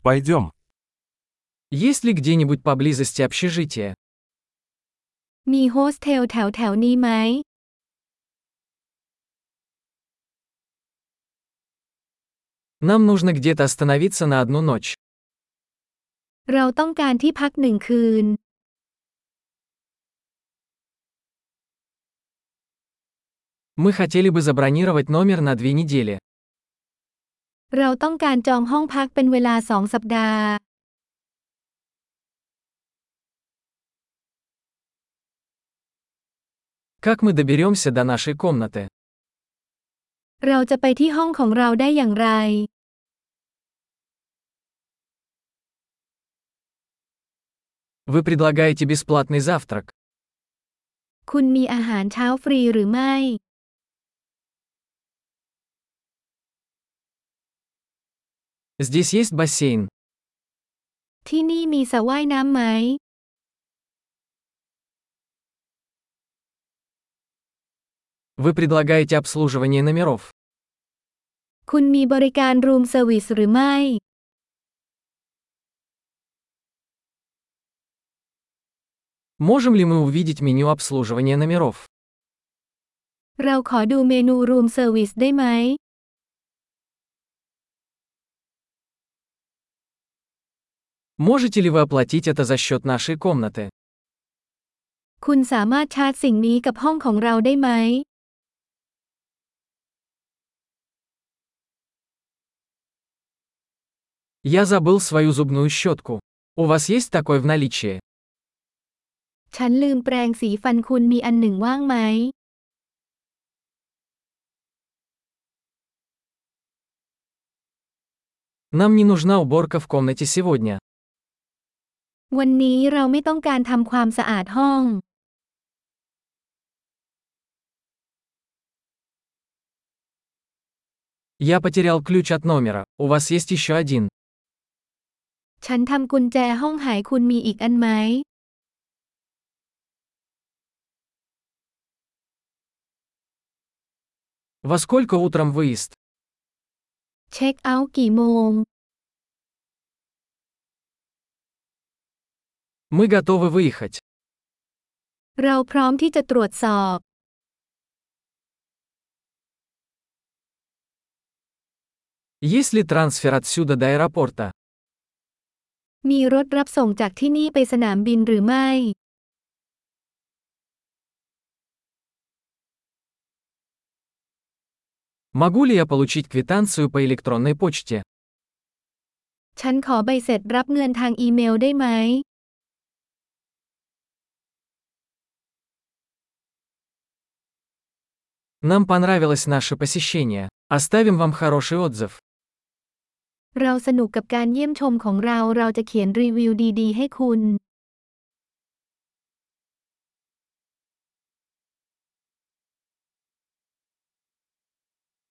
Пойдем. Есть ли где-нибудь поблизости общежитие? มีโฮสเทลแถวนี้ไหม Нам нужно где-то остановиться на одну ночь. เราต้องการที่พักหนึ่งคืน Мы хотели бы забронировать номер на 2 недели. เราต้องการจองห้องพักเป็นเวลา2 สัปดาห์ Как мы доберемся до нашей комнаты? เราจะไปที่ห้องของเราได้อย่างไร Вы предлагаете бесплатный завтрак. คุณมีอาหารเช้าฟรีหรือไม่ Здесь есть бассейн. ที่นี่มีสระว่ายน้ำไหม Вы предлагаете обслуживание номеров. คุณมีบริการรูมเซอร์วิสหรือไม่ Можем ли мы увидеть меню обслуживания номеров? เราขอดูเมนูรูมเซอร์วิสได้ไหม Можете ли вы оплатить это за счет нашей комнаты? คุณสามารถชาร์จสิ่งนี้กับห้องของเราได้ไหม Я забыл свою зубную щетку. У вас есть такой в наличии? ฉันลืมแปรงสีฟันคุณมีอันหนึ่งว่างไหม Нам не нужна уборка в комнате сегодня. วันนี้เราไม่ต้องการทำความสะอาดห้อง Я потерял ключ от номера. У вас есть еще один. ฉันทำกุญแจห้องหายคุณมีอีกอันไหม Во сколько утром выезд? เช็คเอาท์กี่โมง Мы готовы выехать. เราพร้อมที่จะตรวจสอบ Есть ли трансфер отсюда до аэропорта? มีรถรับส่งจากที่นี่ไปสนามบินหรือไม่ Могу ли я получить квитанцию по электронной почте? ฉันขอใบเสร็จรับเงินทางอีเมลได้ไหม Нам понравилось наше посещение. Оставим вам хороший отзыв. เราสนุกกับการเยี่ยมชมของเรา เราจะเขียนรีวิวดีๆให้คุณ